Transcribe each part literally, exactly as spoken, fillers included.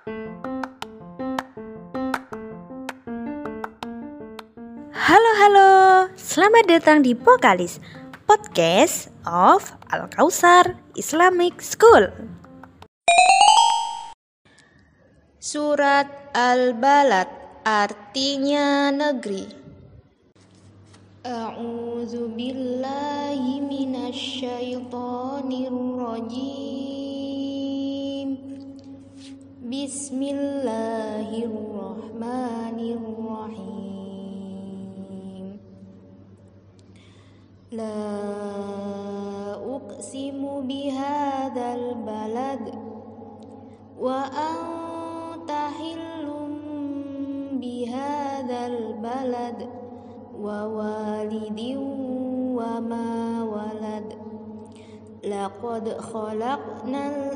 Halo halo, selamat datang di Pokalis, podcast of Al-Kausar Islamic School. Surat Al-Balad artinya negeri. A'udzu billahi minasy syaithanir rajim. Bismillahirrahmanirrahim. La uqsimu bihadzal balad wa anta hillum bihadzal balad wa walidin wa ma walad. Laqad khalaqnal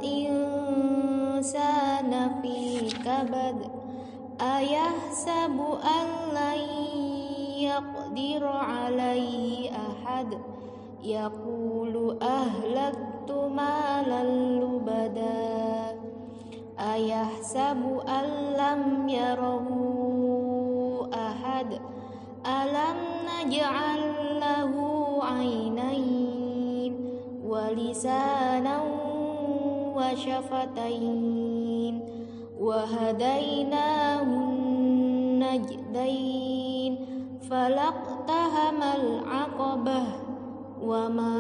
insana fi kabad ayahsabu an lan yaqdir alaihi ahad yaqulu ahlaktu malan lubada ayahsabu an lam yarahu ahad alam naj'al lahu aynayn wa lisanan wa syafatain wa hadainahun najdain falaqtahamal aqabah wa ma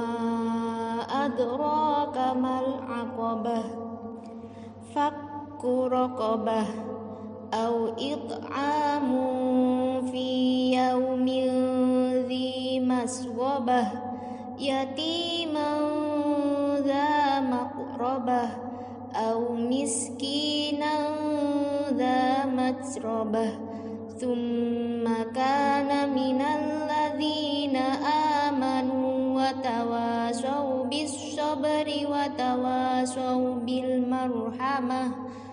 adraka mal aqabah fakku raqabah au it'amun fi yaumin dhi maswabah yatiman dha maqrabah au miskinan dha matrabah thumma kana minal ladzina amanu wa tawasaw bis sabri wa tawasaw bil marhamah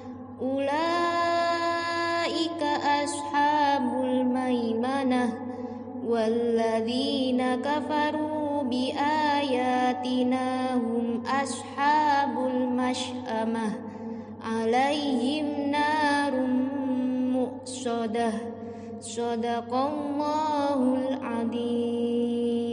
ulaika ashabul maimanah walladzina kafaru bi ayatina hum ashabul masy'amah alaihim narum muqsadah. Shadaqallahul adzim.